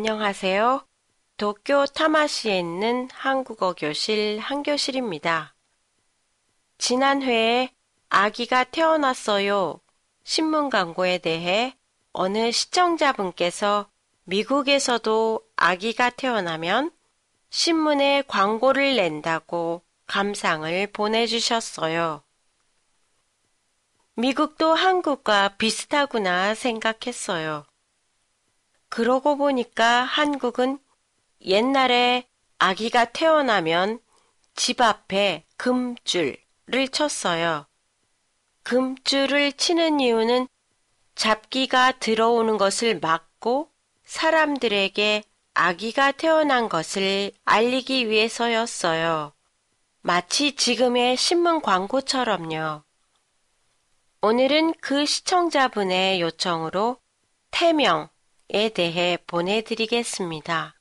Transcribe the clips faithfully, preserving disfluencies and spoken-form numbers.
안녕하세요. 도쿄 타마시에 있는 한국어 교실 한교실입니다. 지난 회에 아기가 태어났어요. 신문 광고에 대해 어느 시청자분께서 미국에서도 아기가 태어나면 신문에 광고를 낸다고 감상을 보내주셨어요. 미국도 한국과 비슷하구나 생각했어요. 그러고 보니까 한국은 옛날에 아기가 태어나면 집 앞에 금줄을 쳤어요. 금줄을 치는 이유는 잡기가 들어오는 것을 막고 사람들에게 아기가 태어난 것을 알리기 위해서였어요. 마치 지금의 신문 광고처럼요. 오늘은 그 시청자분의 요청으로 태명에 대해 보내드리겠습니다.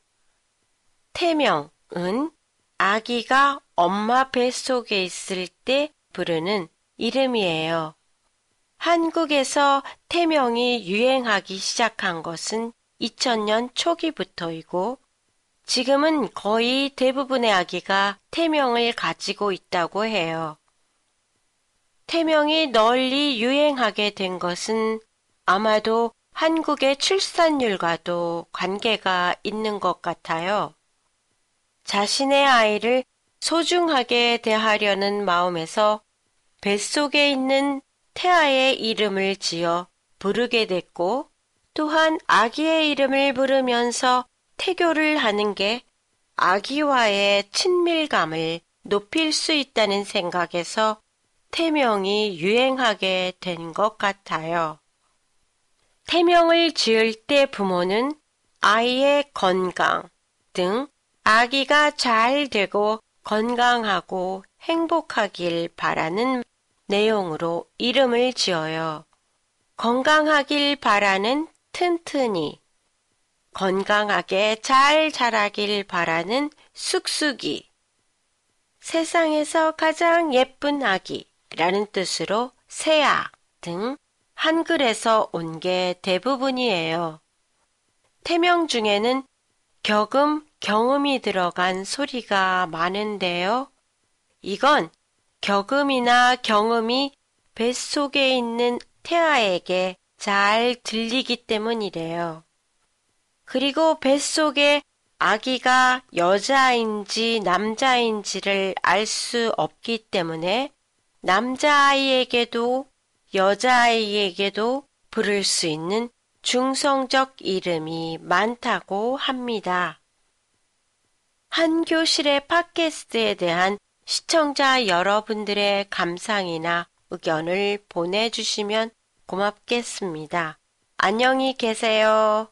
태명은 아기가 엄마 뱃속에 있을 때 부르는 이름이에요. 한국에서 태명이 유행하기 시작한 것은 이천 년 초기부터이고 지금은 거의 대부분의 아기가 태명을 가지고 있다고 해요. 태명이 널리 유행하게 된 것은 아마도 한국의 출산율과도 관계가 있는 것 같아요. 자신의 아이를 소중하게 대하려는 마음에서 뱃속에 있는 태아의 이름을 지어 부르게 됐고 또한 아기의 이름을 부르면서 태교를 하는 게 아기와의 친밀감을 높일 수 있다는 생각에서 태명이 유행하게 된 것 같아요. 태명을 지을 때 부모는 아이의 건강 등 아기가 잘 되고 건강하고 행복하길 바라는 내용으로 이름을 지어요. 건강하길 바라는 튼튼이, 건강하게 잘 자라길 바라는 쑥쑥이, 세상에서 가장 예쁜 아기라는 뜻으로 새아 등 한글에서 온 게 대부분이에요. 태명 중에는 격음, 경음이 들어간 소리가 많은데요. 이건 격음이나 경음이 뱃속에 있는 태아에게 잘 들리기 때문이래요. 그리고 뱃속에 아기가 여자인지 남자인지를 알 수 없기 때문에 남자아이에게도 여자아이에게도 부를 수 있는 중성적 이름이 많다고 합니다. 한교실의 팟캐스트에 대한 시청자 여러분들의 감상이나 의견을 보내주시면 고맙겠습니다. 안녕히 계세요.